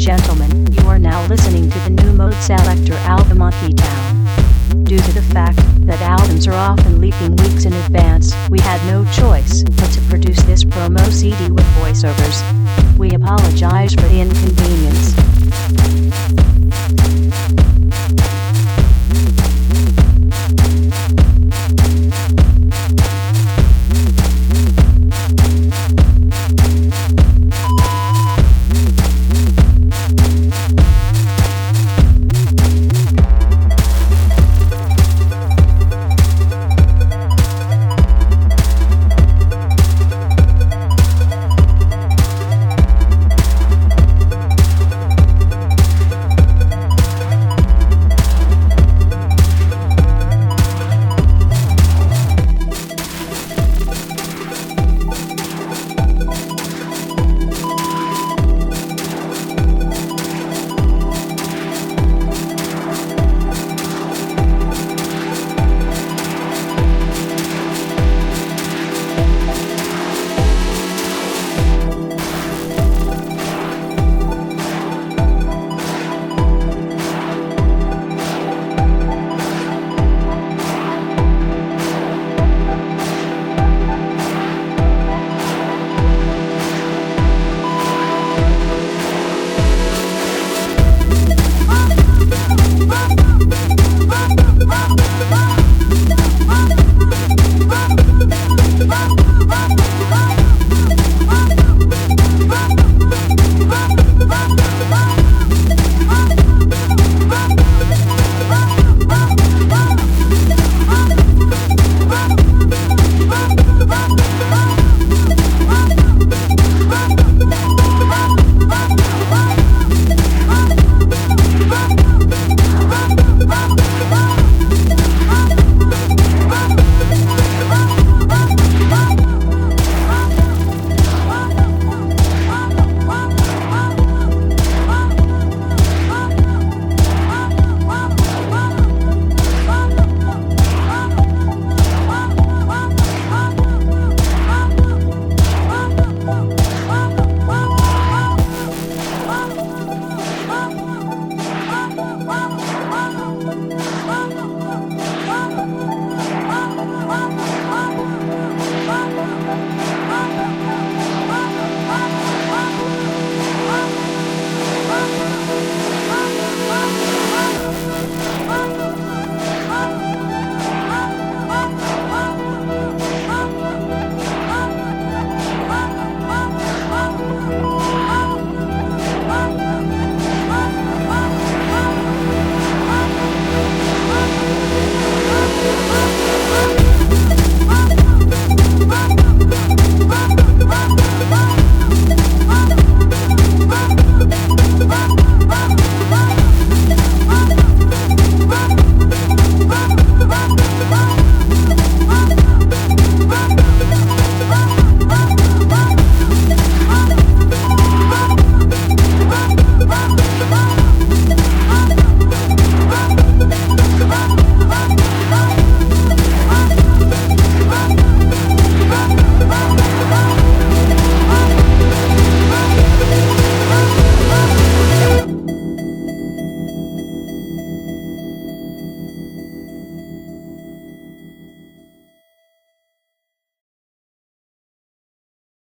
gentlemen, you are now listening to the new Mode Selector album Monkey Town. Due to the fact that albums are often leaking weeks in advance, we had no choice but to produce this promo CD with voiceovers. We apologize for the inconvenience.